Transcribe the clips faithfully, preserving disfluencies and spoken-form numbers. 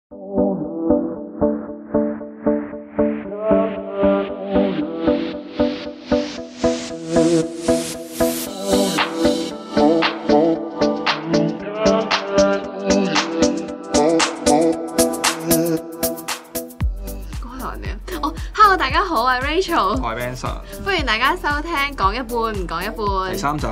大家好，我係 Rachel， 我係 Benson， 歡迎大家收聽講一半唔講一半第三集。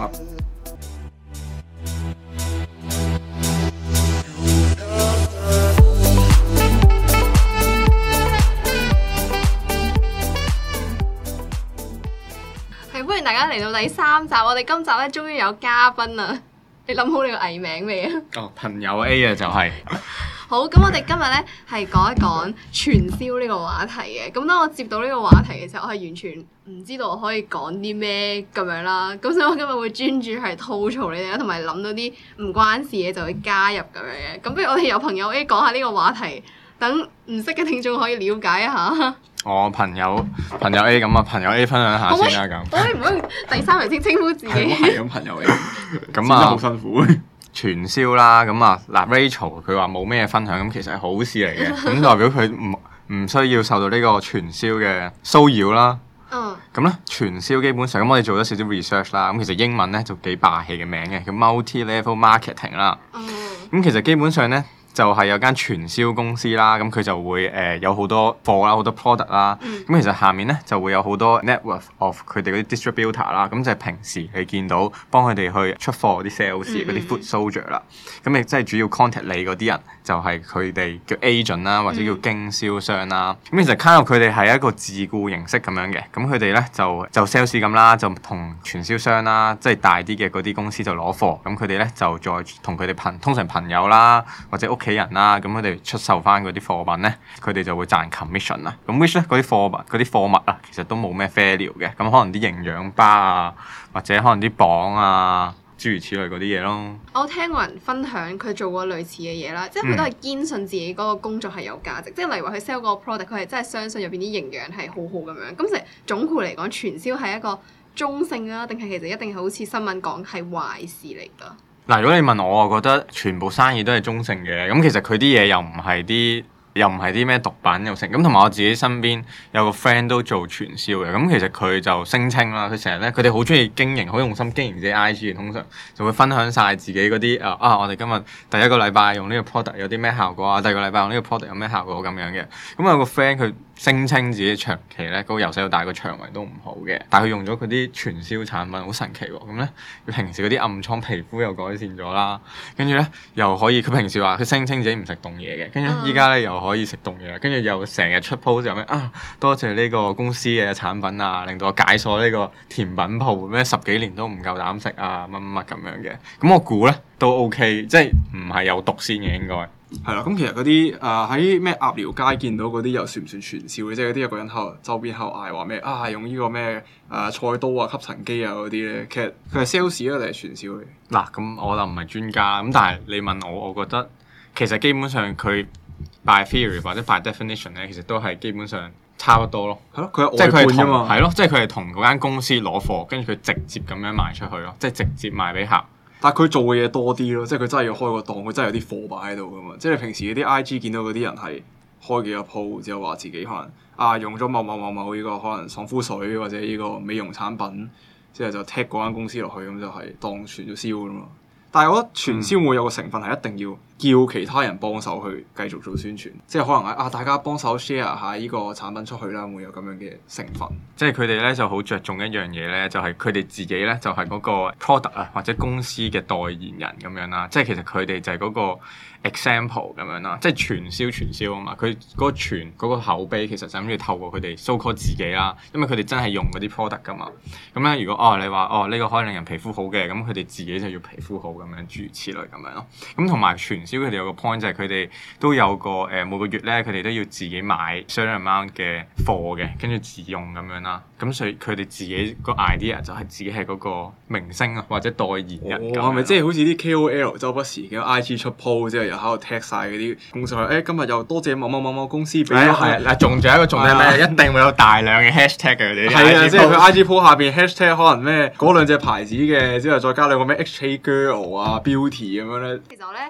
係歡迎大家嚟到第三集，我哋今集咧終於有嘉賓啦！你諗好你個藝名未啊？ 哦，朋友 A 啊，就係、是。 好，咁我哋今日咧係講一講傳銷呢個話題嘅。咁當我接到呢個話題嘅時候，我係完全唔知道我可以講啲咩咁樣啦。咁所以我今日會專注係吐槽你哋啦，同埋諗到啲唔關事嘅就會加入咁樣嘅。咁不如我哋由朋友 A 講下呢個話題，等唔識嘅聽眾可以了解一下。 我朋友朋友 A 咁啊，朋友 A 分享下先啦咁。 可以唔可以第三人稱稱呼自己？ 係咁，朋友 A。咁啊，好辛苦。傳銷啦，咁啊嗱 Rachel 佢話冇咩分享，咁其實係好事嚟嘅，咁代表佢唔唔需要受到呢個傳銷嘅騷擾啦。嗯。咁咧傳銷基本上，咁我哋做咗少少 research 啦，咁其實英文咧就幾霸氣嘅名嘅，叫 multi-level marketing 啦。嗯。咁其實基本上咧，就係有間傳銷公司啦，咁佢就會誒、呃、有好多貨啦，好多 product 啦。咁、嗯、其實下面咧就會有好多 network of 佢哋嗰啲 distributor 啦。咁就係平時你見到幫佢哋去出貨嗰啲 sales 嗰啲 foot soldier 啦。咁亦即係主要 contact 你嗰啲人，就係佢哋叫 agent 啦，或者叫經銷商啦。咁、嗯、其實 kind of 佢哋係一個自僱形式咁樣嘅。咁佢哋咧就就 sales 咁啦，就同傳銷商啦，即、就、係、是、大啲嘅嗰啲公司就攞貨。咁佢哋咧就再同佢哋朋通常朋友啦，或者屋企人啦，咁佢哋出售翻嗰啲貨品咧，佢哋就會賺 commission 啦。咁 which 咧嗰啲貨物嗰啲貨物啊，其實都冇咩 value 嘅。咁可能啲營養巴啊，或者可能啲磅啊，諸如此類嗰啲嘢咯。 我聽過人分享佢做過類似嘅嘢啦，即係佢都係堅信自己嗰個工作係有價值。嗯、即係例如話佢 sell 個 product，佢係真係相信入邊啲營養係好好咁樣。咁其實總括嚟講，傳銷係一個中性啊，定係其實一定係好似新聞講係壞事嚟㗎？ 嗱，如果你問我，我覺得全部生意都係中性嘅。咁其實佢啲嘢又唔係啲，又唔係啲咩毒品又成。咁同埋我自己身邊有個 friend 都做傳銷嘅。咁其實佢就聲稱啦，佢成日咧，佢哋好中意經營，好用心經營自己 I G 嘅。通常就會分享晒自己嗰啲啊啊，我哋今日第一個禮拜用呢個 product 有啲咩效果啊，第二個禮拜用呢個 product 有咩效果咁樣嘅。咁有個 friend 佢聲稱自己長期咧，嗰個由細到大個腸胃都唔好嘅，但係佢用咗佢啲傳銷產品，好神奇喎！咁咧，佢平時嗰啲暗瘡皮膚又改善咗啦，跟住咧又可以，佢平時話佢聲稱自己唔食凍嘢嘅，跟住依家咧又可以食凍嘢，跟住又成日出 post 有咩啊？多謝呢個公司嘅產品啊，令到我解鎖呢個甜品鋪，咩十幾年都唔夠膽食啊，乜乜乜咁樣嘅。咁我估咧都 OK， 即係唔係有毒先嘅應該。 係啦，咁其實嗰啲誒喺咩鴨寮街見到嗰啲又算唔算傳銷嘅？即係嗰啲有個人喺度周邊喺度嗌話咩啊？用呢個咩誒、呃、菜刀啊、吸塵機啊嗰啲咧，其實佢係 sales 啊定係傳銷嚟？ 嗱，咁我就唔係專家啦。咁但係你問我，我覺得其實基本上佢 by theory 或者 by definition 咧，其實都係基本上差不多咯。係咯，佢係外判啫嘛。係咯，即係佢係同嗰間公司攞貨，跟住佢直接咁樣賣出去咯，即係直接賣俾客。 但係佢做嘅嘢多啲咯，即係佢真係要開個檔，佢真係有啲貨擺喺度噶嘛。即係你平時嗰啲 I G 見到嗰啲人係開幾個鋪，之後話自己可能啊用咗某某某某呢個可能爽膚水或者呢個美容產品，之後就 tag 嗰間公司落去，咁就係當傳咗銷噶嘛。但係我覺得傳銷會有個成分係一定要叫其他人幫手去繼續做宣傳，即係可能係啊大家幫手 share 下呢個產品出去啦，會有咁樣嘅成分。 即係佢哋咧就好着重一樣嘢咧，就係佢哋自己咧就係嗰個 product 啊或者公司嘅代言人咁樣啦。即係其實佢哋就係嗰個 example 咁樣啦。即係傳銷傳銷啊嘛，佢嗰個傳嗰個口碑其實就諗住透過佢哋 so call 自己啦，因為佢哋真係用嗰啲 product 噶嘛。咁咧如果哦你話哦呢個可以令人皮膚好嘅，咁佢哋自己就要皮膚好咁樣諸如此類咁樣咯。咁同埋傳銷佢哋有個 point 就係佢哋都有個誒、呃、每個月咧佢哋都要自己買相當 amount 嘅貨嘅，跟住自用咁樣啦。咁所以佢哋自己個 idea 就係自己係嗰個明星啊或者代言人咁。 係咪即係好似啲 K O L 周不時嘅 I G 出 post 之後又喺度 tag 晒嗰啲公司，誒、哎、今日又多謝某某某某公司俾咗。係嗱，仲仲有一個重點咩？一定會有大量嘅 hashtag 嘅佢哋。係啊，即係佢 I G post 下邊 hashtag 可能咩嗰兩隻牌子嘅，之後再加兩個咩 H A Girl 啊 Beauty 咁樣咧。 其實咧，我聽到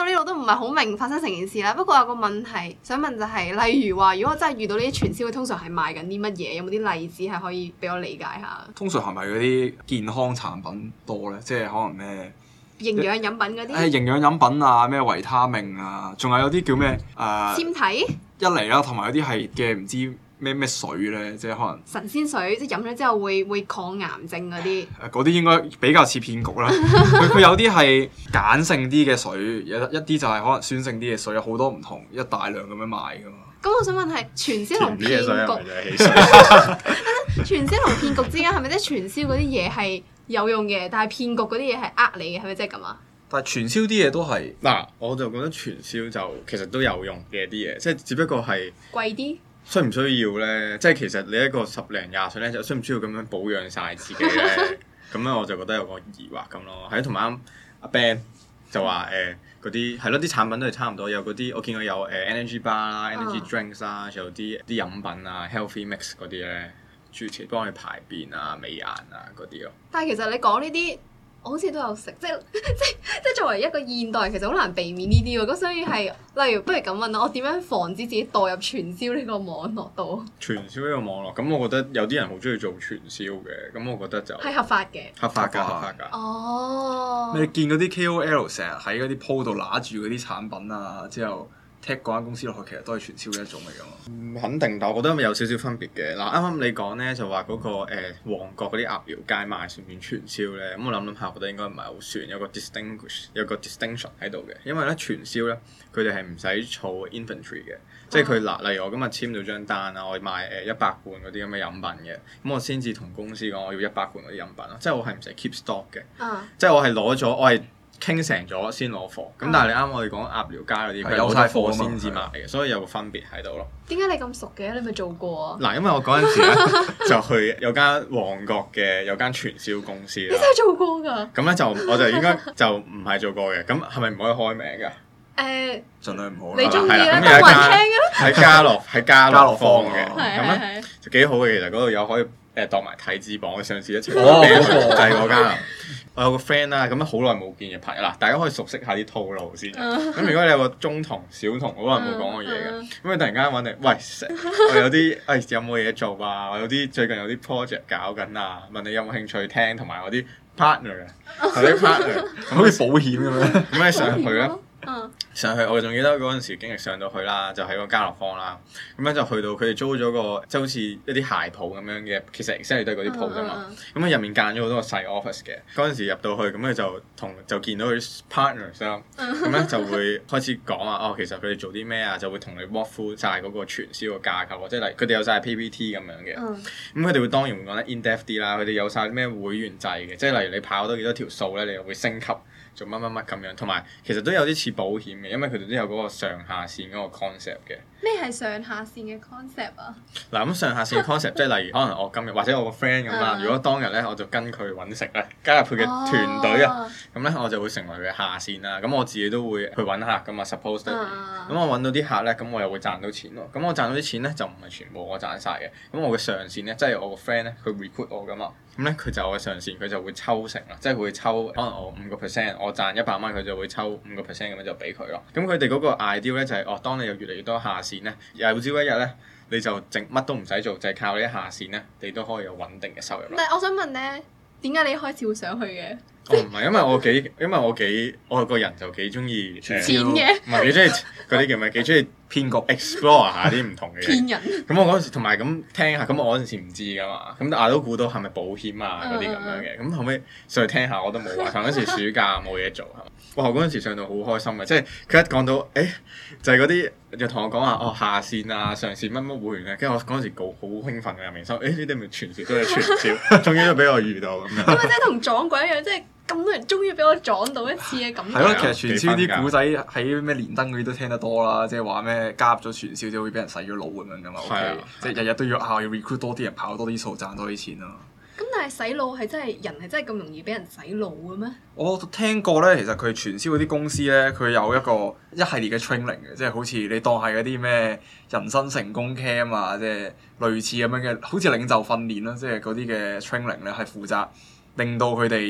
到呢度都唔係好明發生成件事啦。不過有個問題想問就係、是，例如話，如果我真係遇到呢啲傳銷，通常係賣緊啲乜嘢？有冇啲例子係可以俾我理解下？ 通常係咪嗰啲健康產品多咧？即係可能咩營養飲品嗰啲？ 誒營養飲品啊，咩維他命啊，仲有有啲叫咩誒？ 纖體一嚟啦，同埋有啲係嘅唔知咩咩水咧，即係可能神仙水，即係飲咗之後會會抗癌症嗰啲。 誒嗰啲應該比較似騙局啦。佢佢有啲係鹼性啲嘅水，有一啲就係可能酸性啲嘅水，有好多唔同，一大量咁樣賣噶嘛。 咁我想問係傳銷同騙局，傳銷同騙局之間係咪即係傳銷嗰啲嘢係有用嘅，但係騙局嗰啲嘢係呃你嘅，係咪即係咁啊？ 但係傳銷啲嘢都係嗱，我就覺得傳銷就其實都有用嘅啲嘢，即係只不過係貴啲。需唔需要咧？即係其實你一個十零廿歲咧，就需唔需要咁樣保養晒自己咧？咁咧我就覺得有個疑惑咁咯。係同埋啱阿 Ben 就話誒嗰啲係咯，啲產品都係差唔多，有嗰啲我見過有誒 energy bar 啦、energy drinks 啦，仲有啲啲飲品啊、healthy mix 嗰啲咧，諸如此類幫你排便啊、美顏啊嗰啲咯。 但係其實你講呢啲。我好似都有食，即係即係即係作為一個現代人，其實好難避免呢啲喎。咁所以係，例如不如咁問啦，我點樣防止自己墮入傳銷呢個網絡度？ 傳銷呢個網絡，咁我覺得有啲人好中意做傳銷嘅，咁我覺得就係合法嘅， 合法㗎，合法㗎。 哦， 你見嗰啲 K O L 成日喺嗰啲鋪度揦住嗰啲產品啊，之後踢嗰間公司落去，其實都係傳銷嘅一種嚟㗎嘛。 唔肯定，但我覺得有少少分別嘅。嗱，啱啱你講咧就話嗰、嗰個誒、呃、旺角嗰啲鴨寮街賣算唔算傳銷咧？咁我諗諗下，我覺得應該唔係好算，有個 distinguish 有個 distinction 喺度嘅。因為咧傳銷咧，佢哋係唔使儲 inventory 嘅，即係佢嗱，例如我今日簽到張單啊，我賣誒一百罐嗰啲咁嘅飲品嘅，咁我先至同公司講我要一百罐嗰啲飲品咯，即係我係唔使 keep stock 嘅， 啊、 即係我係攞咗我係。傾成咗先攞貨，咁但係你啱我哋講鴨寮街嗰啲，佢有晒貨先至賣嘅，所以有個分別喺度咯。 點解你咁熟嘅？你咪做過啊？ 嗱，因為我嗰陣時咧就去有間旺角嘅有間傳銷公司啦。 你真係做過㗎？ 咁咧就我就應該就唔係做過嘅，咁係咪唔可以開名㗎？ 誒， 盡量唔好啦。 你中意啦， 咁有一間嘅喺家樂喺家樂坊嘅， 咁咧就幾好嘅。其實嗰度有可以誒當埋體脂磅嘅上市一齊俾佢，就係嗰間。我有個 friend 啦，咁樣好耐冇見嘅朋友啦，大家可以熟悉下啲套路先。咁、uh, 如果你有個中同、小同，好耐冇講過嘢嘅，咁、uh, uh, 你突然間揾你，喂，我有啲誒、哎、有冇嘢做啊？我有啲最近有啲 project 搞緊啊，問你有冇興趣聽，同埋我啲 partner 啊，同啲 partner 好似保險咁樣，咁你上去咧。Uh, 上去我仲記得嗰陣時經歷上到去啦，就喺個家樂坊啦，咁樣就去到佢哋租咗個即係好似一啲鞋鋪咁樣嘅，其實 exactly 都係嗰啲鋪啫嘛。咁啊入面間咗好多個細 office 嘅，嗰陣時入到去咁佢就同就見到佢啲 partners 啦，咁咧就會開始講啊，哦其實佢哋做啲咩啊，就會同你 walk through 曬嗰個傳銷嘅架構，即係例如佢哋有晒 P P T 咁樣嘅，咁佢哋會當然會講得 in depth 啲啦，佢哋有晒咩會員制嘅，即係例如你跑多幾多條數咧，你又會升級。做乜乜乜咁樣，同埋其實都有啲似保險嘅，因為佢哋都有嗰個上下線嗰個 concept 嘅。 咩係上下線嘅 concept 啊？ 嗱咁上下線嘅 concept 即係例如可能我今日或者我個 friend 咁啦，如果當日咧我就跟佢揾食咧，加入佢嘅團隊啊，咁咧、哦、我就會成為佢嘅下線啦。咁我自己都會去揾客噶嘛 suppose 咁我揾到啲客咧，咁我又會賺到錢咯。咁我賺到啲錢咧就唔係全部我賺晒嘅。咁我嘅上線咧，即係我個 friend 咧，佢 recruit 我噶嘛。咁咧佢就我嘅上線，佢就會抽成啦，即係佢會抽可能我五個 percent，我賺一百蚊，佢就會抽五個 percent 咁樣就俾佢咯。咁佢哋嗰個 idea 咧就係、是，哦，當你有越嚟越多下線咧，有朝一日咧你就整乜都唔使做，就係、是、靠你啲下線咧，你都可以有穩定嘅收入。 但係我想問咧，點解你一開始會上去嘅？ 哦，唔係，因為我幾，因為我幾，我個人就幾中意錢嘅， 唔係幾中意嗰啲叫咩？幾中意騙局 explore 下啲唔同嘅嘢。騙人。咁我嗰陣時同埋咁聽下，咁我嗰陣時唔知噶嘛，咁大家都估到係咪保險啊嗰啲咁樣嘅，咁後尾上去聽下我都冇話，同嗰陣時暑假冇嘢做係嘛，哇！嗰陣時上到好開心嘅，即係佢一講到誒、欸，就係嗰啲就同我講話哦下線啊上線乜乜會員嘅，跟住我嗰陣時好好興奮嘅入面收，誒呢啲咪傳銷都係傳銷，終於都俾我遇到咁樣。 咁咪即係同撞鬼一樣，即係。咁多人終於俾我撞到一次嘅感覺。 係咯，其實傳銷啲古仔喺咩連登嗰啲都聽得多啦，即係話咩加入咗傳銷就會俾人洗咗腦咁樣噶嘛。O K，即係日日都要啊，要 recruit 多啲人，跑多啲數，賺多啲錢咯。 咁但係洗腦係真係人係真係咁容易俾人洗腦嘅咩？ 我聽過咧，其實佢傳銷嗰啲公司咧，佢有一個一系列嘅 training 嘅，即係好似你當係嗰啲咩人生成功 camp 啊，即係類似咁樣嘅，好似領袖訓練啦，即係嗰啲嘅 training 咧係負責令到佢哋。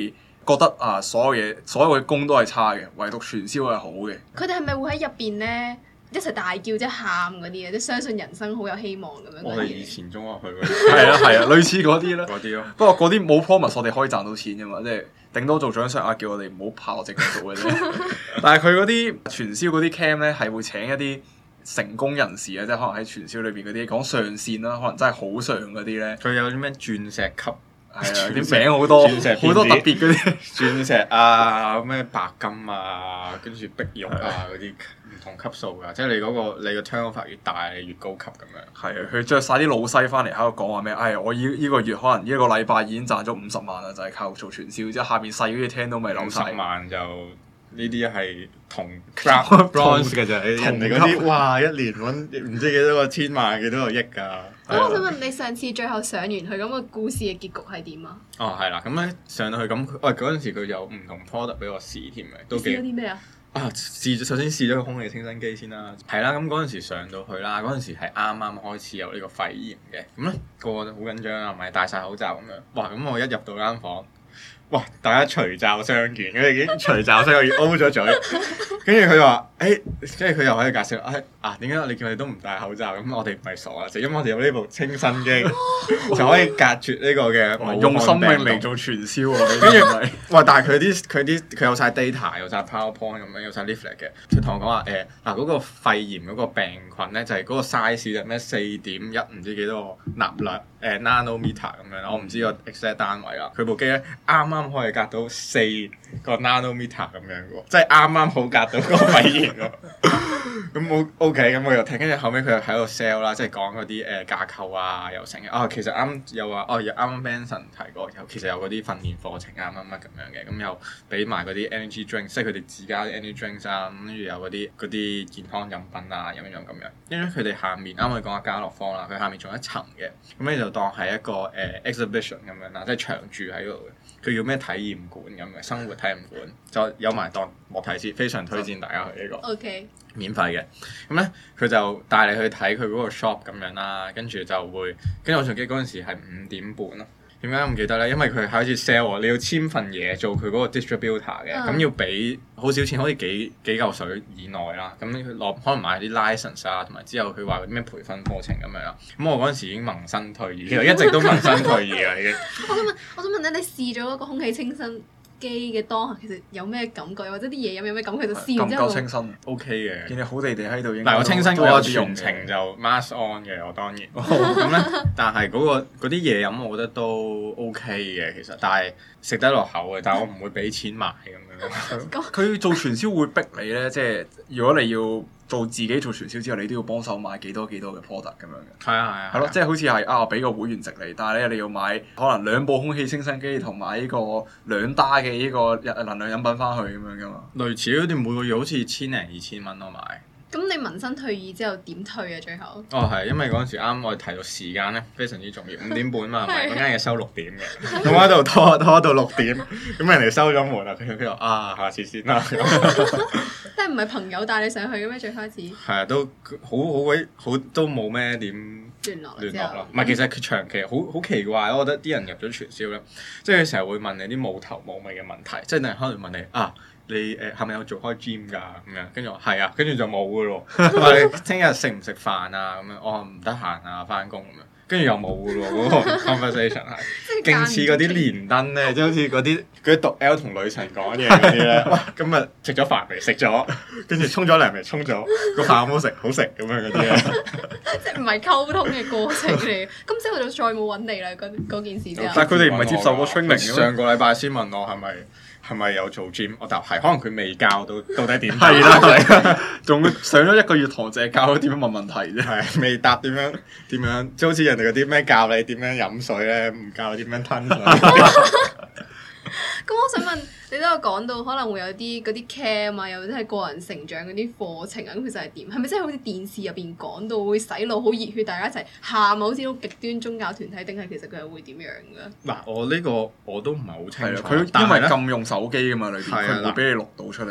覺得啊所有嘢所有嘅工都係差嘅，唯獨傳銷係好嘅。 佢哋係咪會喺入邊咧一齊大叫即係喊嗰啲啊？即係相信人生好有希望咁樣。 我哋以前中學去嗰啲。 係啊係啊，類似嗰啲啦。 嗰啲咯。 不過嗰啲冇 promise 我哋可以賺到錢㗎嘛，即係頂多做獎賞額，叫我哋唔好怕我直接做嘅啫。但係佢嗰啲傳銷嗰啲 cam 咧係會請一啲成功人士啊，即係可能喺傳銷裏邊嗰啲講上線啦，可能真係好上嗰啲咧。 佢有啲咩鑽石級？ 係啊，啲名好多，好多特別嗰啲鑽石啊，咩白金啊，跟住碧玉啊嗰啲唔同級數㗎，即係你嗰、嗰個你個 turnover 越大，你越高級咁樣。係啊，佢著晒啲老西翻嚟喺度講話咩？哎，我依依個月可能依一個禮拜已經賺咗五十萬啦，就係、係、靠做傳銷，之後下邊細嗰啲聽都未扭晒。五十萬就呢啲係同 bronze 嘅啫，人哋嗰啲哇一年揾唔知幾多個千萬幾多個億㗎。 咁我想問你上次最後上完去咁個故事嘅結局係點啊？ 哦，係啦，咁咧上到去咁，喂嗰陣時佢有唔同 product 俾我試添嘅，都幾。試咗啲咩啊？ 啊，試咗首先試咗個空氣清新機先啦，係啦，咁嗰陣時上到去啦，嗰陣時係啱啱開始有呢個肺炎嘅，咁咧個個都好緊張啊，咪戴晒口罩咁樣，哇！咁我一入到間房。哇！大家除罩相見，佢哋已經除罩相見 O 咗嘴，跟住佢話：誒、欸，跟住佢又喺度介紹，誒、哎、啊點解你叫你都唔戴口罩？咁我哋唔係傻啊，就因為我哋有呢部清新機，就可以隔絕呢個嘅用生命嚟做傳銷喎。 跟住，哇！但係佢啲佢啲佢有晒 data，有晒 PowerPoint 咁樣，有晒 leaflet 嘅。佢同我講話誒嗱嗰個肺炎嗰個病菌咧，就係、是、嗰個 size 就咩四點一唔知幾多個納略誒 nanometer 咁樣啦，我唔知個 exact 單位啦。佢部機咧啱啱可以隔到四個 nanometer 咁樣嘅喎，即係啱啱好隔到嗰個肺炎喎。咁我 OK，咁我又聽，跟住後尾佢又喺度 sell 啦，即係講嗰啲誒架構啊，又成啊。其實啱又話哦，又啱啱 Benson 提過，有其實有嗰啲訓練課程啊乜乜咁樣嘅，咁又俾埋嗰啲 energy drink，即係佢哋自家啲 energy drinks 啊，跟住有嗰啲嗰啲健康飲品啊，飲一飲咁樣。因為佢哋下面啱我哋講下家樂福啦，佢下面仲有一層嘅，咁你就當係一個誒、呃、exhibition 咁樣啦，即係長住喺度嘅。佢叫咩體驗館咁嘅生活體驗館，就有埋當莫提斯，非常推薦大家去呢、這個。 OK。 免費嘅，咁咧佢就帶你去睇佢嗰個 shop 咁樣啦，跟住就會，跟住我仲記得嗰陣時係五點半咯。點解唔記得咧？因為佢開始 sell 喎，你要簽份嘢做佢嗰個 distributor 嘅，咁、嗯、要俾好少錢，好似幾幾嚿水以內啦。咁佢落可能買啲 license 啊，同埋之後佢話嗰啲咩培訓課程咁樣啦。咁我嗰陣時已經萌生退意，其實一直都萌生退意啦已經。 我想問，我想問咧，你試咗嗰個空氣清新機嘅當下，其實有咩感覺？或者啲嘢飲有咩感覺？就試完之後， 夠清新 OK 嘅。 見你好地地喺度， 嗱我清新嗰個全程就 mask on 嘅，我當然。咁咧、哦，但係嗰、嗰個嗰啲嘢飲，我覺得都 OK 嘅，其實，但係食得落口嘅，但係我唔會俾錢買咁樣。 佢做傳銷會逼你咧，即係如果你要做自己做傳銷之後，你都要幫手買幾多幾多嘅 product 咁樣嘅。係啊係啊。係咯，即係好似係啊，俾個會員值你，但係咧你要買可能兩部空氣清新機同埋呢個兩打嘅呢個能量飲品翻去咁樣噶嘛。類似嗰啲每個月好似千零二千蚊我買。 咁你萌生退意之後點退啊？最後哦係，因為嗰陣時啱我哋提到時間咧，非常之重要，五點半嘛，嗰間嘢收六點嘅，咁我喺度拖拖到六點，咁人哋收咗門啦，佢佢話啊下次先啦。即係唔係朋友帶你上去嘅咩？最開始係啊，都好好鬼好，都冇咩點聯絡聯絡啦。唔係，其實佢長期好好奇怪，我覺得啲人入咗傳銷咧，即係佢成日會問你啲冇頭冇尾嘅問題，即係可能問你啊。你誒係咪有做開 gym 㗎咁樣？跟住我係啊，跟住就冇㗎咯。話你聽日食唔食飯啊？咁樣我話唔得閒啊，翻工咁樣。跟住又冇㗎咯，嗰個 conversation 係勁似嗰啲連登咧，即係好似嗰啲嗰啲讀 L 同女神講嘢嗰啲咧。哇！今日食咗飯未？食咗。跟住沖咗涼未？沖咗。個飯好唔好食？好食咁樣嗰啲咧。 即係唔係溝通嘅過程嚟？咁之後就再冇揾你啦。嗰嗰件事之後。 但係佢哋唔係接受過 training 上個禮拜先問我係咪？係咪有做 gym？我答係，可能佢未教到到底點。係啦，仲上咗一個月堂，淨係教咗點樣問問題啫。係未答點樣點樣，即係好似人哋嗰啲咩教你點樣飲水咧，唔教你點樣吞水。 咁我想問，你都有講到可能會有啲嗰啲 cam 啊，又或者係個人成長嗰啲課程啊，咁其實係點？係咪真係好似電視入邊講到會洗腦好熱血，大家一齊喊啊，好似好極端宗教團體，定係其實佢係會點樣㗎？嗱，我呢個我都唔係好清楚。佢因為禁用手機㗎嘛，裏邊佢唔會俾你錄到出嚟嘅。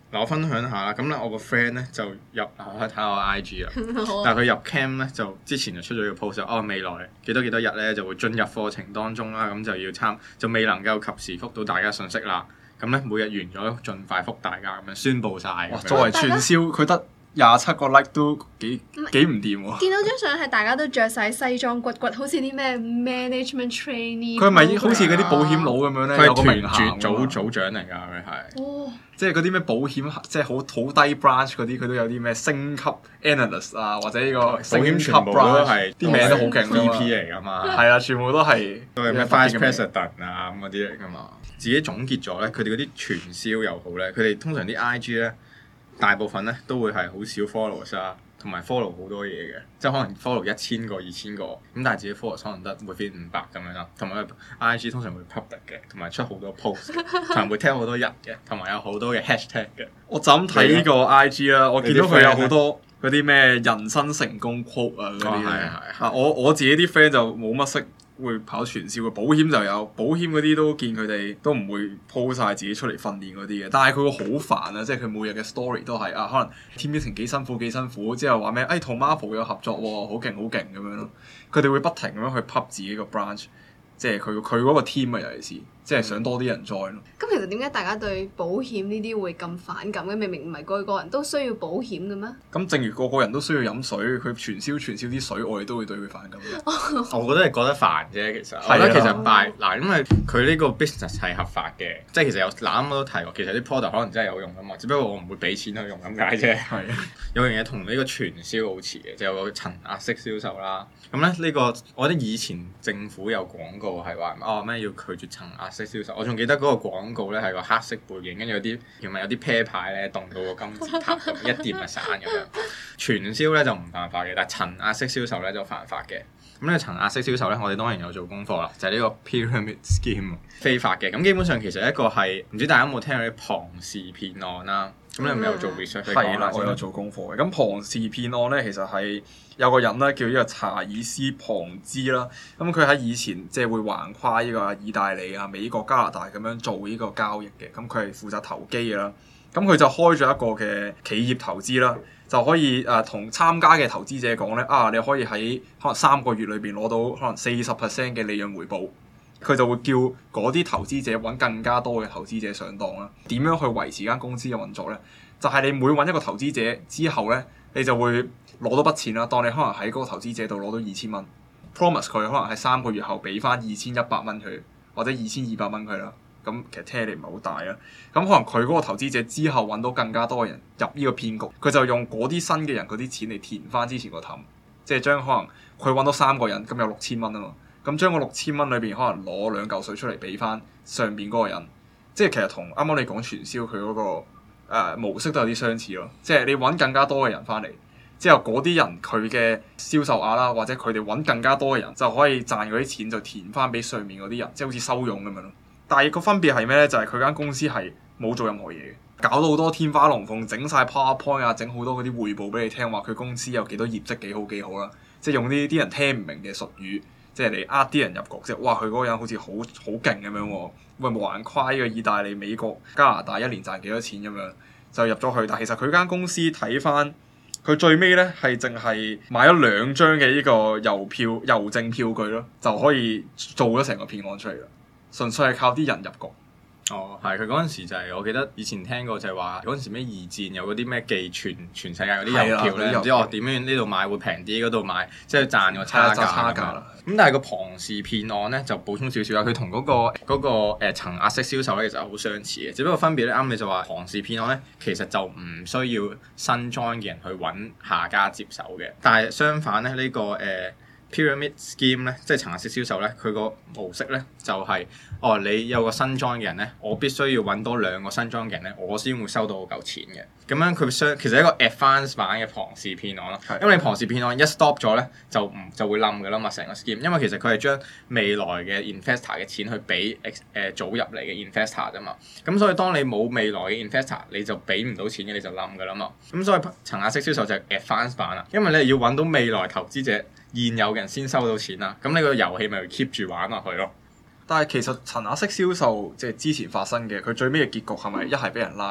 嗱，我分享下啦，咁咧我個 friend 咧就入，我可以睇下我 I G 啦，但係佢入 camp 咧就之前就出咗個 post，哦未來幾多幾多日咧就會進入課程當中啦，咁就要參，就未能夠及時覆到大家信息啦，咁咧每日完咗盡快覆大家咁樣宣佈晒。 作為傳銷，佢得廿七個 like 都幾幾唔掂喎。 見到張相係大家都着晒西裝骨骨，好似啲咩 management trainee。 佢係咪好似嗰啲保險佬咁樣咧？ 佢係團團組組長嚟㗎，佢係。 哦。 即係嗰啲咩保險，即係好好低 branch 嗰啲，佢都有啲咩升級 analyst 啊，或者呢個保險全部都係啲名都好勁 V P 嚟㗎嘛。 係啊，全部都係都係咩 vice president 啊咁嗰啲嚟㗎嘛。自己總結咗咧，佢哋嗰啲傳銷又好咧，佢哋通常啲 I G 咧，大部分咧都會係好少 followers 啊，同埋 follow 好多嘢嘅，即係可能 follow 一千個、二千個，咁但係自己 follow 可能得 within 五百咁樣啦。同埋 I G 通常會 public 嘅，同埋出好多 post，同埋會聽好多人嘅，同埋有好多嘅 hashtag 嘅。 我就咁睇呢個 I G 啦，我見到佢有好多嗰啲咩人生成功 quote 啊嗰啲咧。啊，我我自己啲 friend 就冇乜識會跑傳銷嘅，保險就有，保險嗰啲都見佢哋都唔會 po 曬自己出嚟訓練嗰啲嘅，但係佢會好煩啊！即係佢每日嘅 story 都係啊，可能 team meeting 幾辛苦幾辛苦，之後話咩？誒同 Marvel 有合作喎，好勁好勁咁樣咯。佢哋會不停咁樣去 pub 自己個 branch，即係佢佢嗰個 team 啊，尤其是即係想多啲人 join 咯。 咁其實點解大家對保險呢啲會咁反感嘅？明明唔係個個人都需要保險嘅咩？ 咁正如個個人都需要飲水，佢傳銷傳銷啲水，我哋都會對佢反感嘅。 我覺得係覺得煩啫，其實。我覺得其實拜嗱，因為佢呢個 business 係合法嘅，即係其實有嗱啱啱都提過，其實啲 product 可能真係有用噶嘛，只不過我唔會俾錢去用咁解啫。係。有樣嘢同呢個傳銷好似嘅，就有個層壓式銷售啦。咁咧呢個，我覺得以前政府有廣告係話哦咩要拒絕層壓式銷售，我仲記得嗰個廣告咧係個黑色背景，跟住有啲同埋有啲啤牌咧棟到個金字塔咁，一掂就散咁樣。傳銷咧就唔犯法嘅，但係層壓式銷售咧就犯法嘅。咁呢個層壓式銷售咧，我哋當然有做功課啦，就係、是、呢個 pyramid scheme 非法嘅。咁基本上其實一個係唔知大家有冇聽過啲龐氏騙案啦？咁你係咪有做 research？ 係啦，我有做功課嘅。咁龐氏騙案咧，其實係有個人咧叫呢個查爾斯龐茲啦。咁佢喺以前即係會橫跨呢個意大利啊、美國、加拿大咁樣做呢個交易嘅。咁佢係負責投機嘅啦。咁佢就開咗一個嘅企業投資啦。就可以誒同、呃、參加嘅投資者講咧，啊你可以喺可能三個月裏邊攞到可能四十 percent 嘅利潤回報，佢就會叫嗰啲投資者揾更加多嘅投資者上當啦。點樣去維持間公司嘅運作咧？就係、是、你每揾一個投資者之後咧，你就會攞到筆錢啦。當你可能喺嗰個投資者度攞到二千蚊 ，promise 佢可能喺三個月後俾翻二千一百蚊佢，或者二千二百蚊佢啦。咁其實聽起嚟唔係好大啊，咁可能佢嗰個投資者之後揾到更加多嘅人入呢個騙局，佢就用嗰啲新嘅人嗰啲錢嚟填翻之前個氹，即係將可能佢揾到三個人，咁有六千蚊啊嘛，咁將個六千蚊裏邊可能攞兩嚿水出嚟俾翻上邊嗰個人，即係其實同啱啱你講傳銷佢嗰個、呃、模式都有啲相似咯，即係你揾更加多嘅人翻嚟，之後嗰啲人佢嘅銷售額啦，或者佢哋揾更加多嘅人就可以賺嗰啲錢就填翻俾上面嗰啲人，即係好似收佣咁樣咯。但係個分別係咩咧？就係佢間公司係冇做任何嘢嘅，搞到好多天花龍鳳，整晒 PowerPoint 啊，整好多嗰啲匯報俾你聽，話佢公司有幾多業績幾好幾好啦。即係用啲啲人聽唔明嘅術語，即係嚟呃啲人入局，即係哇佢嗰個人好似好好勁咁樣喎，喂橫跨呢個意大利、美國、加拿大一年賺幾多錢咁樣就入咗去。但係其實佢間公司睇翻佢最尾咧係淨係買咗兩張嘅呢個郵票郵政票據咯，就可以做咗成個騙案出嚟啦。純粹係靠啲人入局。 哦，係佢嗰陣時就係、是、我記得以前聽過就係話嗰陣時咩二戰有嗰啲咩寄全全世界嗰啲郵票咧，唔知我點樣呢度買會平啲，嗰度買即係賺個差價。差價啦。咁但係個龐氏騙案咧就補充少少啦，佢同嗰個嗰、那個誒、呃、層壓式銷售咧其實好相似嘅，只不過分別咧啱你就話龐氏騙案咧其實就唔需要新 join 嘅人去揾下家接手嘅，但係相反咧呢、這個誒。呃Pyramid scheme 咧，即係層壓式銷售咧，佢個模式咧就係、是，哦，你有個新 join 嘅人咧，我必須要揾多兩個新 join 嘅人咧，我先會收到嗰嚿錢嘅。咁樣佢相其實係一個 advanced 版嘅龐氏騙案咯。的因為你龐氏騙案一 stop 咗咧，就唔就會冧㗎啦嘛，成個 scheme。因為其實佢係將未來嘅 investor 嘅錢去俾誒、呃、早入嚟嘅 investor 啫嘛。咁所以當你冇未來嘅 investor，你就俾唔到錢嘅，你就冧㗎啦嘛。咁所以層壓式銷售就係 advanced 版啦，因為你係要揾到未來投資者。現有嘅人先收到錢啦，咁你個遊戲咪 keep 住玩落去咯。 但係其實層壓式銷售即係之前發生嘅，佢最尾嘅結局係咪一係俾人拉，一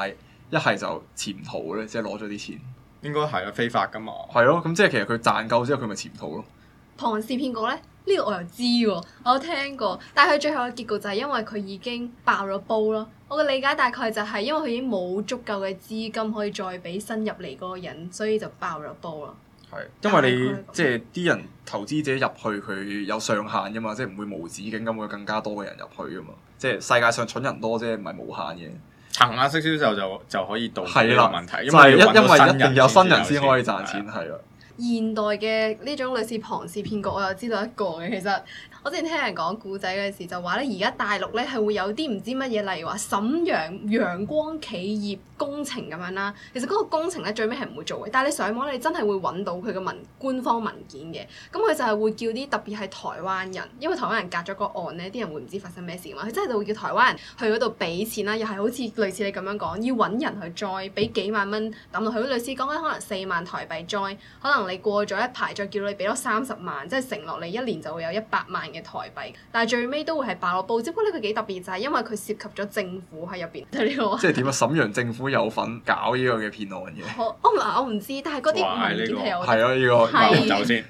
一係就潛逃咧，即係攞咗啲錢。 應該係啦，非法噶嘛。 係咯，咁即係其實佢賺夠之後，佢咪潛逃咯。 龐氏騙局咧，呢、呢個我又知喎，我有聽過，但係佢最後嘅結局就係因為佢已經爆咗煲咯。我嘅理解大概就係因為佢已經冇足夠嘅資金可以再俾新入嚟嗰個人，所以就爆咗煲咯。 係，因為你即係啲人投資者入去，佢有上限噶嘛，即係唔會無止境咁會更加多嘅人入去噶嘛。即係世界上蠢人多啫，唔係無限嘅。層壓式銷售就就可以杜絕呢個問題，因為因為一定有新人先可以賺錢，係啦。現代嘅呢種類似龐氏騙局，我又知道一個嘅。其實我之前聽人講故仔嗰陣時，就話咧，而家大陸咧係會有啲唔知乜嘢，例如話瀋陽陽光企業工程咁樣啦。其實嗰個工程咧最尾係唔會做嘅，但係你上網你真係會揾到佢嘅文官方文件嘅。咁佢就係會叫啲特別係台灣人，因為台灣人隔咗個岸咧，啲人會唔知發生咩事嘛。佢真係就會叫台灣人去嗰度俾錢啦，又係好似類似你咁樣講，要揾人去 join，俾幾萬蚊抌落去。類似講緊可能四萬台幣 join，可能你過咗一排再叫你俾多三十萬，即係承諾你一年就會有一百萬嘅台幣。但係最尾都會係爆咗煲，只不過呢個幾特別就係因為佢涉及咗政府喺入邊。呢個即係點啊？瀋陽政府有份搞呢個嘅騙案嘅。我我唔我唔知，但係嗰啲文件係有。係啊，呢個流走先。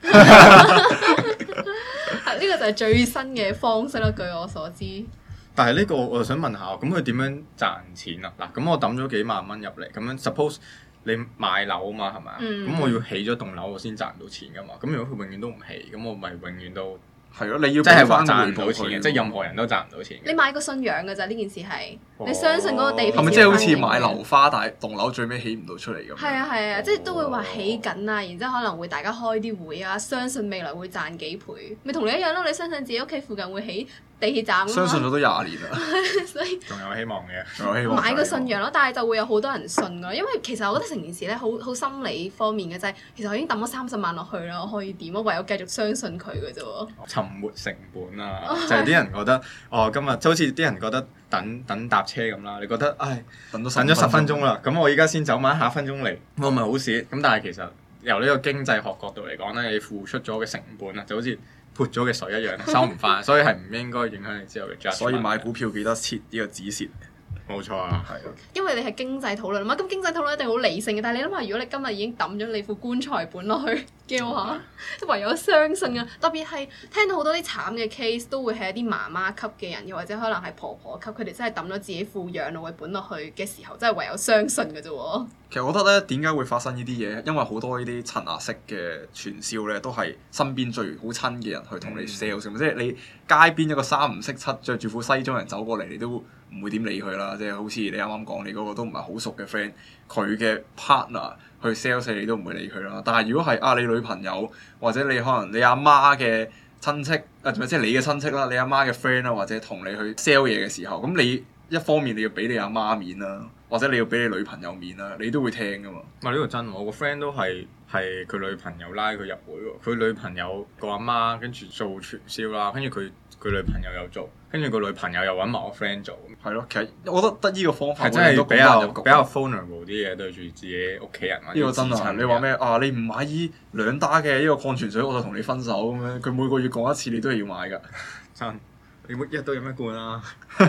係呢個就係最新嘅方式啦，據我所知。 但係呢個我就想問下，咁佢點樣賺錢啊？嗱，咁我抌咗幾萬蚊入嚟，咁樣 suppose。你買樓啊嘛，係咪啊？咁、嗯、我要起咗棟樓，我先賺到錢噶嘛。咁如果佢永遠都唔起，咁我咪永遠都係咯。你要即係話賺唔到錢嘅，即係任何人都賺唔到錢嘅。 你買個信仰㗎咋？呢件事係、哦、你相信嗰個地皮係咪即係好似買樓花，但係棟樓最尾起唔到出嚟咁？係啊係啊，即係都會話起緊啊，然之後可能會大家開啲會啊，相信未來會賺幾倍，咪同你一樣咯。你相信自己屋企附近會起地鐵站， 相信咗都廿年啦， 所以仲有希望嘅， 仲有希望。 買個信仰咯，但係就會有好多人信㗎，因為其實我覺得成件事咧，好好心理方面嘅啫。其實我已經抌咗三十萬落去啦，我可以點啊？唯有繼續相信佢嘅啫喎。 沉沒成本啊，就係啲人覺得哦，今日就好似啲人覺得等等搭車咁啦。你覺得唉，等咗等咗十分鐘啦，咁我依家先走埋下分鐘嚟，我咪好蝕。咁但係其實由呢個經濟學角度嚟講咧，你付出咗嘅成本啊，就好似潑咗嘅水一樣，收唔翻，所以係唔應該影響你之後嘅 judgement。所以買股票記得設呢個止蝕。冇錯啊，係啊。因為你係經濟討論啊嘛，咁經濟討論一定好理性嘅。但係你諗下，如果你今日已經抌咗你副棺材本落去嘅話，唯有相信啊。特別係聽到好多啲慘嘅 case，都會係一啲媽媽級嘅人，又或者可能係婆婆級，佢哋真係抌咗自己副養老嘅本落去嘅時候，真係唯有相信嘅啫喎。其實我覺得咧，點解會發生呢啲嘢？因為好多呢啲層壓式嘅傳銷咧，都係身邊最好親嘅人去同你 sell 先、嗯。即係你街邊一個三唔識七着住副西裝人走過嚟，你都唔會點理佢啦。即係好似你啱啱講，你嗰個都唔係好熟嘅 friend，佢嘅 partner 去 sell 你都唔會理佢啦。但係如果係啊，你女朋友或者你可能你阿媽嘅親戚啊，即係你嘅親戚啦，你阿媽嘅 friend 啦，或者同你去 sell 嘢嘅時候，咁你一方面你要俾你阿媽面啦。或者你要俾你女朋友面啦，你都會聽噶嘛？唔係呢個真，我個 friend 都係係佢女朋友拉佢入會喎。佢女朋友個阿媽跟住做傳銷啦，跟住佢佢女朋友又做，跟住個女朋友又揾埋我 friend 做。係咯，其實我覺得得呢個方法係真係比較比較 vulnerable 啲嘢對住自己屋企人。呢個真啊！你話咩啊？你唔買依兩打嘅呢個礦泉水，我就同你分手咁樣。佢每個月講一次，你都係要買㗎。真，你每日都飲一罐啦。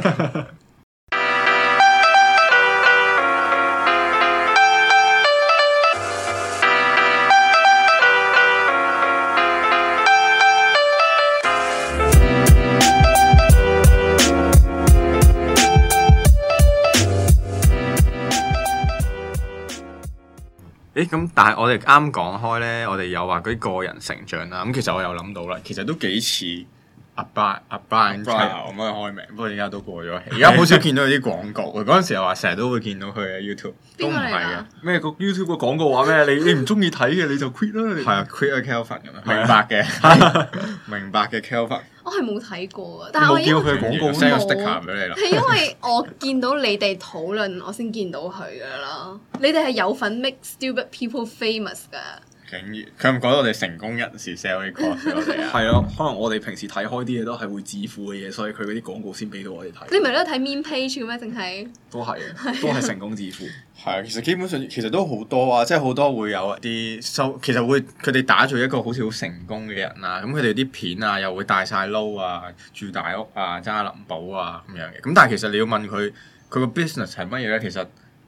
誒咁，但係我哋啱講開咧，我哋有話嗰啲個人成長啦。咁其實我有諗到啦，其實都幾似阿 Brian 阿 Brian Chao 咁樣開名，不過而家都過咗氣。而家好少見到佢啲廣告。嗰陣時又話成日都會見到佢喺 YouTube，都唔係嘅。咩個 YouTube 個廣告話咩？你你唔中意睇嘅你就 quit 啦。係啊 ，quit 啊 Kelvin 咁樣。明白嘅，明白嘅 Kelvin。我係冇睇過啊，但係我見到佢廣告 send 個 sticker 俾你啦。係因為我見到你哋討論，我先見到佢噶啦。你哋係有份 make stupid people famous 噶。竟然佢唔覺得我哋成功人士 sell 啲 course 俾我哋啊？係啊，可能我哋平時睇開啲嘢都係會致富嘅嘢，所以佢嗰啲廣告先俾到我哋睇。你唔係都睇 meme page 嘅咩？淨係都係，都係成功致富。係啊，其實基本上其實都好多啊，即係好多會有啲收，其實會佢哋打造一個好似好成功嘅人啊，咁佢哋啲片啊又會帶晒撈啊，住大屋啊，揸林寶啊咁樣嘅。咁但係其實你要問佢佢個 business 係乜嘢咧？其實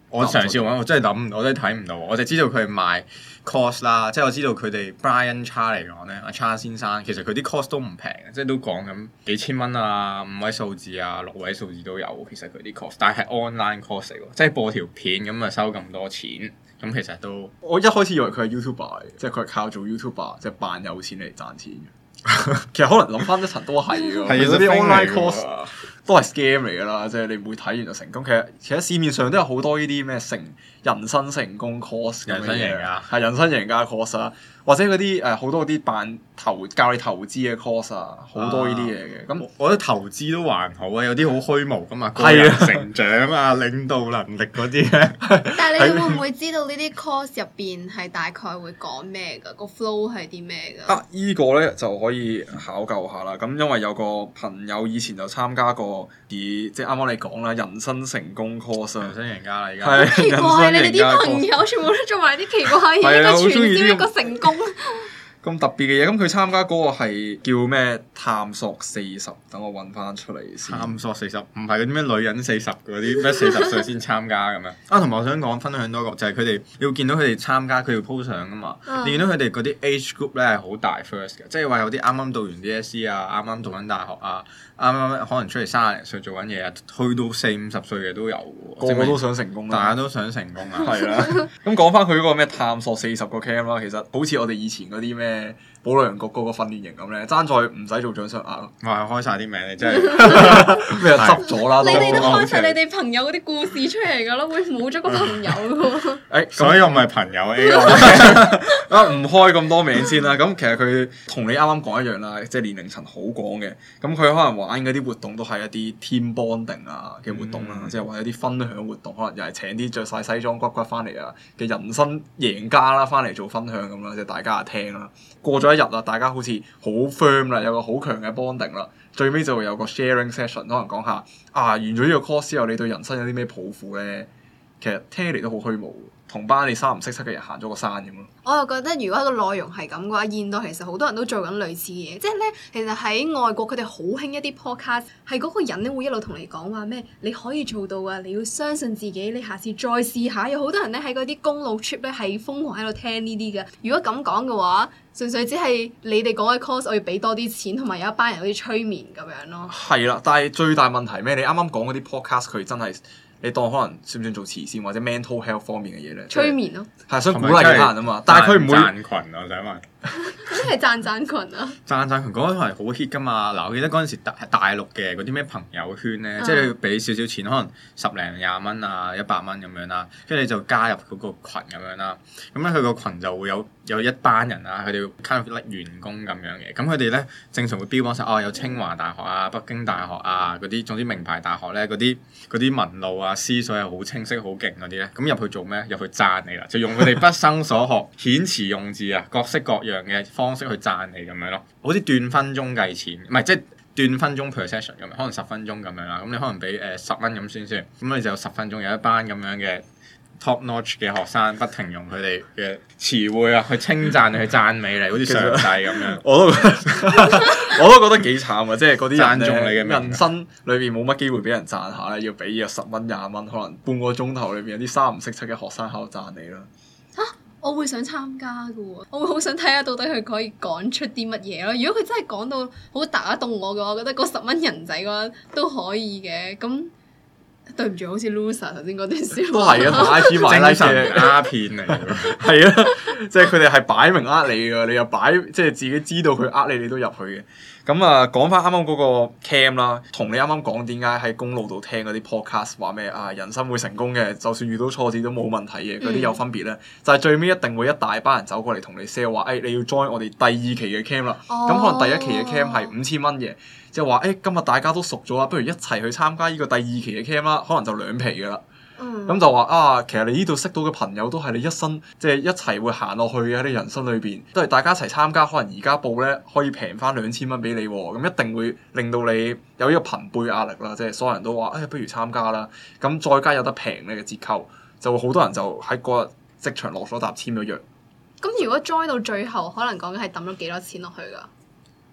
我嘗試揾，我真係諗唔到，我真係睇唔到。我就知道佢係賣 course 啦，即係我知道佢哋 Brian Cha 嚟講咧，阿 Cha 先生其實佢啲 course 都唔平嘅，即係都講緊幾千蚊啊，五位數字啊，六位數字都有。其實佢啲 course，但係 online course 嚟喎，即係播條片咁啊收咁多錢，咁其實都我一開始以為佢係 YouTuber，即係佢係靠做 YouTuber 即係扮有錢嚟賺錢嘅。其實可能諗翻一層都係嘅，係嗰啲 online course 都係 scam 嚟㗎啦，即係你唔會睇完就成功。其實其實市面上都有好多呢啲咩成人生成功 course 咁嘅嘢，人生贏家係人生贏家 course 啊，或者嗰啲誒好多嗰啲扮投教你投資嘅 course 啊，好多呢啲嘢嘅。咁、啊、 我覺得投資都還好啊，有啲好虛無㗎嘛，個人成長啊、領導能力嗰啲咧。 但係你會唔會知道呢啲 course 入邊係大概會講咩㗎？個 flow 係啲咩㗎？ 啊，依、這個咧就可以考究下啦。咁因為有個朋友以前就參加過以即係啱啱你講啦，人生成功 course 啊， 人生贏家啦，而家係奇怪，你哋啲朋友全部都做埋啲奇怪嘢，一個傳銷，一個成功。 咁特別嘅嘢，咁佢參加嗰個係叫咩？探索四十，等我揾翻出嚟先。 探索四十，唔係嗰啲咩女人四十嗰啲咩四十歲先參加咁樣。啊，同埋我想講分享多個，就係佢哋你會見到佢哋參加，佢要 po 相噶嘛。嗯、你見到佢哋嗰啲 age group 咧係好大 first 嘅，即係話有啲啱啱讀完 D S E 啊，啱啱讀緊大學啊，啱啱可能出嚟三十零歲做緊嘢啊，去到四五十歲嘅都有嘅喎。 個個都想成功啦， 大家都想成功啊。 係啦。咁講翻佢嗰個咩探索四十個 camp 啦，其實好似我哋以前嗰啲咩保良局嗰個訓練營咁咧，爭在唔使做掌上壓咯。 哇！開晒啲名你真係咩執咗啦！ 你哋都開晒你哋朋友嗰啲故事出嚟㗎咯，會冇咗個朋友㗎喎。 誒， 所以我唔係朋友 A 啊，唔開咁多名先啦。咁其實佢同你啱啱講一樣啦，即係年齡層好廣嘅。咁佢可能玩嗰啲活動都係一啲 team bonding 啊嘅活動啦，嗯、即係話一啲分享活動，可能又係請啲着晒西裝骨骨翻嚟啊嘅人生贏家啦，翻嚟做分享咁啦，即係大家啊聽啦。過咗一日啦，大家好似好 firm 啦，有個好強嘅 bonding 啦，最尾就會有個 sharing session，可能講下啊，完咗呢個 course 之後，你對人生有啲咩抱負咧？其實聽起嚟都好虛無，同班你三唔識七嘅人行咗個山咁咯。 我又覺得如果個內容係咁嘅話，現代其實好多人都做緊類似嘅嘢，即係咧，其實喺外國佢哋好興一啲 podcast，係嗰個人咧會一路同你講話咩，你可以做到啊，你要相信自己，你下次再試下。有好多人咧喺嗰啲公路 trip 咧係瘋狂喺度聽呢啲嘅。如果咁講嘅話，純粹只係你哋講嘅 course，我要俾多啲錢，同埋有一班人好似催眠咁樣咯。 係啦，但係最大問題咩？你啱啱講嗰啲 podcast，佢真係你當可能算唔算做慈善或者 mental health 方面嘅嘢咧？ 催眠咯， 係想鼓勵其他人啊嘛。但係佢唔會賺群啊！我想問， 咩係賺賺群啊？ 賺賺群嗰個係好 hit 噶嘛？嗱，我記得嗰陣時大大陸嘅嗰啲咩朋友圈咧，嗯、即係你要俾少少錢，可能十零廿蚊啊、一百蚊咁樣啦，跟住你就加入嗰個羣咁樣啦。咁咧佢個群就會有有一班人啊，佢哋要加入員工咁樣嘅。咁佢哋咧正常會標榜晒哦，有清華大學啊、北京大學啊嗰啲，總之名牌大學咧嗰啲嗰啲文路啊、思想係好清晰、好勁嗰啲咧。咁入去做咩？入去讚你啦，就用佢哋畢生所學、遣詞用字啊，各式各樣嘅方式去讚你咁樣咯。好似斷分鐘計錢，唔係即係斷分鐘 per session 咁樣，可能十分鐘咁樣啦。咁你可能俾誒十蚊咁先算，咁你就有十分鐘有一班咁樣嘅 top notch 嘅學生，不停用佢哋嘅詞彙啊去稱讚你、去讚美你，好似上帝咁樣。 我都覺得我都覺得幾慘啊！即係嗰啲讚中你嘅人生裏邊冇乜機會俾人讚下咧，要俾約十蚊、廿蚊，可能半個鐘頭裏邊有啲三唔識七嘅學生喺度讚你啦。 嚇！我會想參加㗎喎，我會好想睇下到底佢可以講出啲乜嘢咯。如果佢真係講到好打動我嘅話，我覺得嗰十蚊人仔嘅話都可以嘅。咁對唔住，好似 loser 頭先嗰段笑都係啊，同 I G 買 like 嘅鴉片嚟㗎。 係啊，即係佢哋係擺明呃你㗎，你又擺即係自己知道佢呃你，你都入去嘅。咁啊，講翻啱啱嗰個 cam 啦，同你啱啱講點解喺公路度聽嗰啲 podcast 話咩啊，人生會成功嘅，就算遇到挫折都冇問題嘅，嗰啲有分別咧，嗯、就係最尾一定會一大班人走過嚟同你 sell 話，誒、哎、你要 join 我哋第二期嘅 cam 啦，咁、哦、可能第一期嘅 cam 係五千蚊嘅，即係話誒今日大家都熟咗啦，不如一齊去參加呢個第二期嘅 cam 啦，可能就兩皮噶啦。咁、嗯、就話啊，其實你呢度識到嘅朋友都係你一生即係、就是、一齊會行落去嘅喺你人生裏邊，都係大家一齊參加。可能而家報咧可以平翻兩千蚊俾你喎，咁一定會令到你有呢個朋輩壓力啦。即係所有人都話，誒、哎、不如參加啦。咁再加有得平咧嘅折扣，就會好多人就喺嗰日即場落咗沓簽咗約。 咁如果 join 到最後，可能講緊係抌咗幾多錢落去㗎？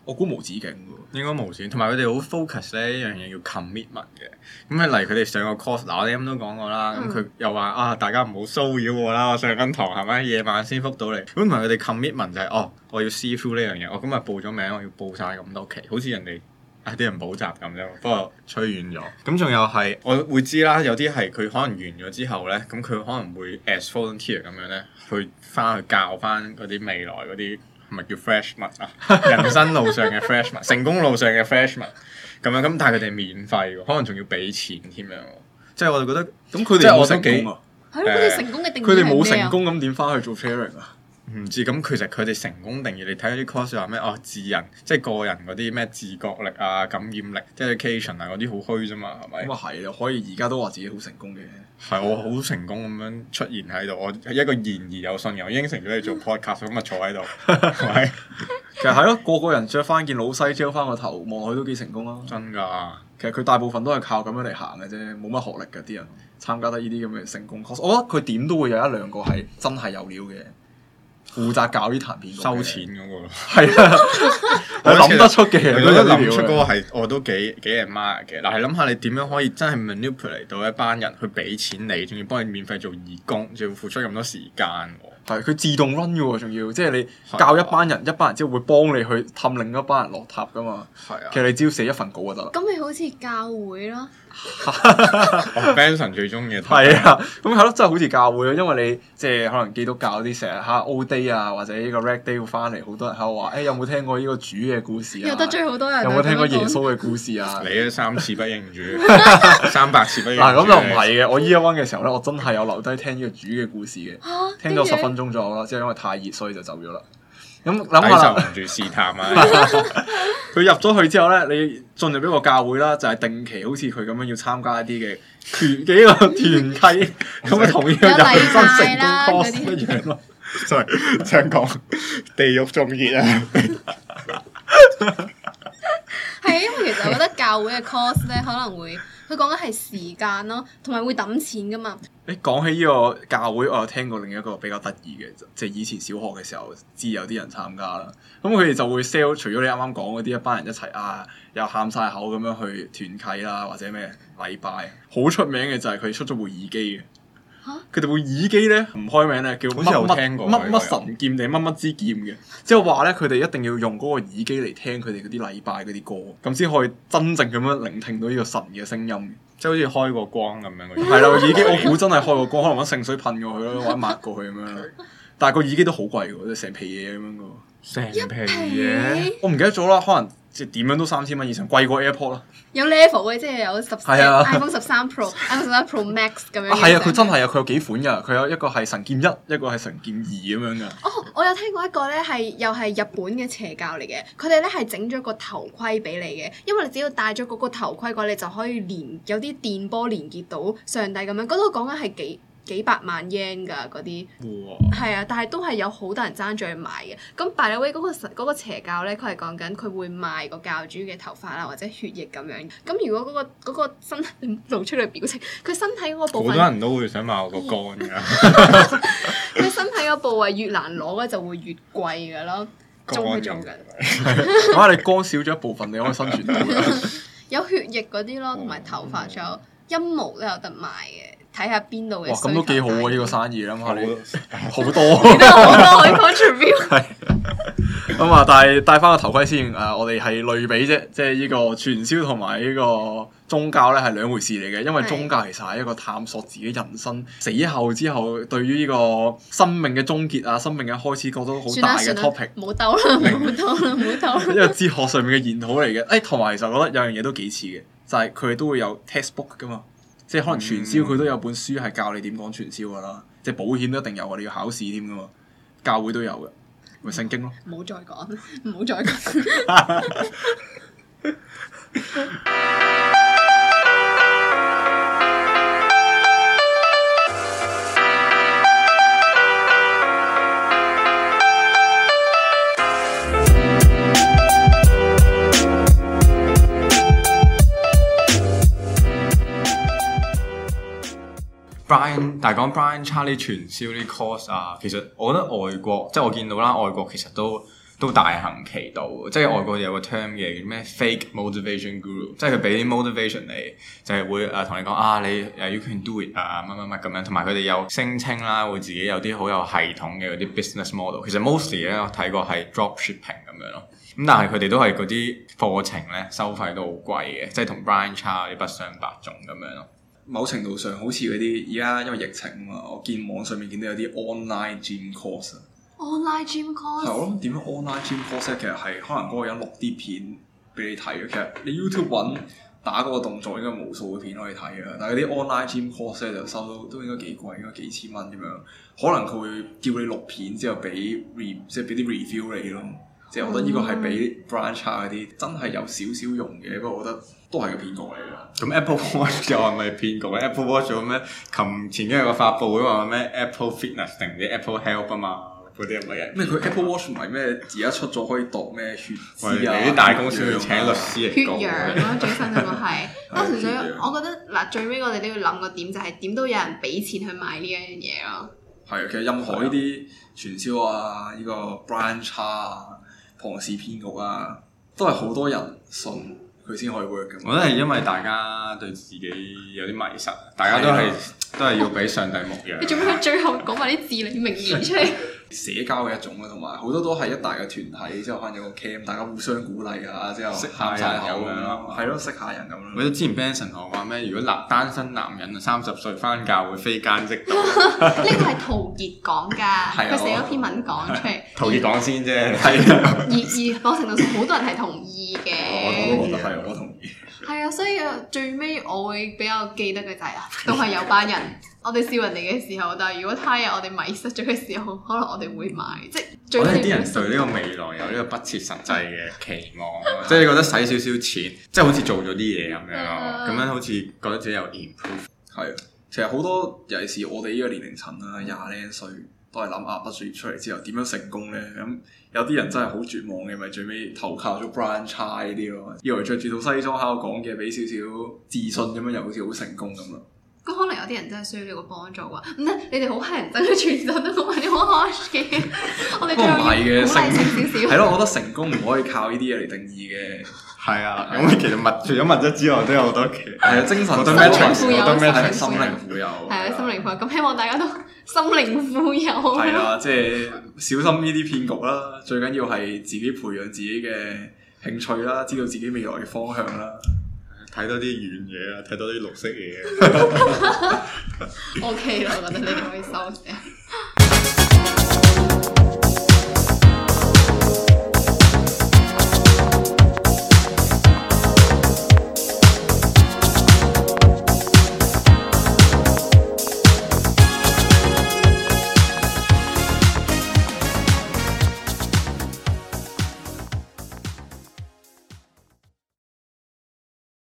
我估無止境喎。 應該無止境，同埋佢哋好 focus 咧一樣嘢叫 commitment 嘅。咁啊，例如佢哋上個 course，嗱我哋咁都講過啦。咁佢、嗯、又話啊，大家唔好騷擾我啦，我上緊堂係咪？夜晚先覆到你。咁同埋佢哋 commitment 就係、是、哦，我要 see through 呢樣嘢。我今日報咗名，我要報晒咁多期，好似人哋啊啲人補習咁啫。不過吹遠咗。咁仲有係我會知啦，有啲係佢可能完咗之後咧，咁佢可能會 as volunteer 咁樣咧，去翻去教翻嗰啲未來嗰啲。係咪叫 freshman 啊？人生路上嘅 freshman， 成功路上嘅 freshman 咁樣咁，但係佢哋免費喎，可能仲要俾錢添樣喎。即係我哋覺得，咁佢哋冇成功啊。 係咯，佢哋成功嘅定義係咩啊？佢哋冇成功咁點翻去做 sharing 啊？ 唔知咁，其實佢哋成功定義，你睇嗰啲 course 話咩？哦，自人即係個人嗰啲咩自覺力啊、感染力、dedication 啊嗰啲好虛啫嘛，係咪？ 咁啊係啊，可以而家都話自己好成功嘅。 係我好成功咁樣出現喺度，我一個言而有信嘅，我應承咗你做 podcast 咁啊坐喺度，係咪？ 其實係咯，個個人着翻件老西，遮翻個頭，望落去都幾成功啊！ 真㗎， 其實佢大部分都係靠咁樣嚟行嘅啫，冇乜學歷嘅啲人參加得呢啲咁嘅成功 course，我覺得佢點都會有一兩個係真係有料嘅。負責搞呢壇片收錢嗰、那個， 係啊，我諗得出嘅， 我覺得諗出嗰個係我都幾幾 admire 嘅。嗱，係諗下你點樣可以真係 manipulate 到一班人去俾錢你，仲要幫你免費做義工，仲要付出咁多時間喎。 係佢自動 run 嘅喎，仲要即係你教一班人，的一班人之後會幫你去氹另一班人落塔噶嘛。係啊的，其實你只要寫一份稿就得啦。 咁咪好似教會咯。 Benson 最中意嘅係啊，咁係咯，真係好似教會咯，因為你即係可能基督教啲成日嚇 O Day 啊，或者呢個 Red Day 會翻嚟，好多人喺度話：誒、欸、有冇聽過呢個主嘅故事啊？ 有得罪好多人。 有冇聽過耶穌嘅故事啊？ 你都三次不認主，三百次不認主。嗱咁就唔係嘅，我 Year One 嘅時候咧，我真係有留低聽呢個主嘅故事嘅，啊、聽咗十分鐘左右啦，即係因為太熱，所以就走咗啦。咁諗下啦，受唔住試探啊！佢入咗去之後咧，你進入一個教會啦，就係、是、定期好似佢咁樣要參加一啲嘅團幾個團契，咁啊同呢個人生成功 course 一樣咯。 sorry，想講地獄仲熱啊！ 係因為其實我覺得教會嘅 course 咧可能會，佢講緊係時間咯，同埋會揼錢噶嘛。 誒講起呢個教會，我有聽過另一個比較得意嘅，即係以前小學嘅時候知有啲人參加啦。咁佢哋就會 sell，除咗你啱啱講嗰啲一班人一齊啊，又喊晒口咁樣去團契啦，或者咩禮拜，好出名嘅就係佢出咗部耳機嘅。佢哋部耳機咧唔開名咧，叫乜乜乜乜神劍定乜乜之劍嘅，即係話咧佢哋一定要用嗰個耳機嚟聽佢哋嗰啲禮拜嗰啲歌，咁先可以真正咁樣聆聽到呢個神嘅聲音， 即係好似開個光咁樣。 係啦，耳機我估真係開個光，可能揾聖水噴過去咯，或者抹過去咁樣。但係個耳機都好貴喎，即係成皮嘢咁樣噶。 成皮嘢， 我唔記得咗啦，可能即係點樣都三千蚊以上，貴過 AirPod 啦。 有 level 嘅，即係有十 iPhone 十三 Pro、iPhone 十三 Pro Max 咁樣。 係啊，佢真係啊，佢有幾款㗎，佢有一個係神劍一，一個係神劍二咁樣㗎。 哦，我有聽過一個咧，係又係日本嘅邪教嚟嘅，佢哋咧係整咗個頭盔俾你嘅，因為你只要戴咗嗰個頭盔嘅話，你就可以連有啲電波連結到上帝咁樣。嗰度講緊係幾幾百萬 yen 㗎嗰啲，係啊，但係都係有好多人爭住去買嘅。咁 by the way 嗰個嗰個邪教咧，佢係講緊佢會賣個教主嘅頭髮啦，或者血液咁樣。咁如果嗰個嗰個身體露出嚟表情，佢身體嗰個部分， 好多人都會想買我個肝㗎。 佢身體個部位越難攞咧，就會越貴㗎咯。仲去做緊， 咁啊！你肝少咗一部分，你可以生存到。 有血液嗰啲咯，同埋頭髮，仲有陰毛都有得賣嘅。睇下邊度嘅。哇！ 咁都幾好喎！呢個生意諗下你好多， 好多可以 contribute。係。 咁啊，但係戴翻個頭盔先。誒，我哋係類比啫，即係呢個傳銷同埋呢個宗教咧係兩回事嚟嘅。因為宗教其實係一個探索自己人生死後之後對於呢個生命嘅終結啊、生命嘅開始，覺得好大嘅 topic。 唔好兜啦，唔好兜啦，唔好兜啦。 一個哲學上面嘅研討嚟嘅。誒，同埋其實我覺得有樣嘢都幾似嘅，就係佢哋都會有 textbook 噶嘛。即係可能傳銷佢都有本書係教你點講傳銷噶啦，即係保險都一定有啊，你要考試添噶嘛，教會都有嘅，咪聖經咯。 唔好再講，唔好再講。 Brian， 但係講 Brian Charlie 傳銷啲 course 啊，其實我覺得外國即係我見到啦，外國其實都都大行其道，即係外國有個 term 嘅叫咩 fake motivation guru，即係佢俾啲 motivation 你，就係會誒同你講啊你誒 you can do it 啊乜乜乜咁樣，同埋佢哋有聲稱啦，會自己有啲好有系統嘅嗰啲 business model。其實 mostly 咧我睇過係 dropshipping 咁樣咯，咁但係佢哋都係嗰啲課程咧收費都好貴嘅，即係同 Brian Cha 啲不相伯仲咁樣咯。 某程度上好似嗰啲而家因為疫情啊嘛，我見網上面見到有啲 online gym course。 online gym course 係我諗點樣 online gym course 其實係可能嗰個人錄啲片俾你睇嘅。其實你 YouTube 揾打嗰個動作應該無數嘅片可以睇嘅，但係嗰啲 online gym course 咧就收到都應該幾貴，應該幾千蚊咁樣。可能佢會叫你錄片之後俾 re 即係俾啲 review 你咯。即係我覺得呢個係比 Brian Cha 嗰啲真係有少少用嘅，不過我覺得都係個騙局嚟嘅。 咁 Apple Watch 又係咪騙局咧？Apple Watch 做咩？琴前幾日個發佈會話咩 Apple Fitness 定唔知 Apple Health 啊嘛？嗰啲係咪人？ 咩佢 Apple Watch 唔係咩？而家出咗可以度咩血脂啊？ 啲大公司要請律師嚟講。 血氧咯，最新嗰個係。不過純粹我覺得嗱，最尾我哋都要諗個點，就係點都有人俾錢去買呢一樣嘢咯。 係啊，其實任何呢啲傳銷啊，呢、呢個 Brian Cha 啊、龐氏騙局啊，都係好多人信佢先可以 work 嘅。 我覺得係因為大家對自己有啲迷失，大家都係都係要俾上帝牧養。 你做咩最後講埋啲至理名言出嚟？ 社交嘅一種啦，同埋好多都係一大嘅團體，之後可能有個 cam， 大家互相鼓勵啊，之後識下人咁樣咯， 係咯，識下人咁咯。 我記得之前 Benson 同我話咩？如果男單身男人啊三十歲返教會非奸即盜， 呢個係陶傑講㗎，佢寫咗篇文講出嚟。 陶傑講先啫， 係而而某程度上好多人係同意嘅。 我都覺得係，我同意。 係啊，所以最尾我會比較記得嘅就係啊，都係有班人。我哋笑人哋嘅時候，但係如果他日我哋迷失咗嘅時候，可能我哋會買。即係最我哋啲人對呢個未來有呢個不切實際嘅期望，即係你覺得使少少錢，即係好似做咗啲嘢咁樣咯，咁樣好似覺得自己有 improve。 係啊，其實好多尤其是我哋呢個年齡層啦，廿零歲都係諗啊，畢咗業出嚟之後點樣成功咧？咁有啲人真係好絕望嘅，咪最尾投靠咗 Brian Cha 呢啲咯，以為着住套西裝喺度講嘅，俾少少自信咁樣，又好似好成功咁咯。 咁可能有啲人真係需要呢個幫助啩？唔得，你哋好乞人憎嘅全部都講埋啲好 harsh 嘅，我哋最後要鼓勵性少少。 係咯，我覺得成功唔可以靠呢啲嘢嚟定義嘅。 係啊，咁其實物除咗物質之外，都有好多其係啊，精神好多 metrics，好多 metrics， 心靈富有。 係啊，心靈富有。咁希望大家都心靈富有。 係啦，即係小心呢啲騙局啦。最緊要係自己培養自己嘅興趣啦，知道自己未來嘅方向啦。 睇多啲遠嘢啊，睇多啲綠色嘢。 O K 啦，我覺得你可以收聲。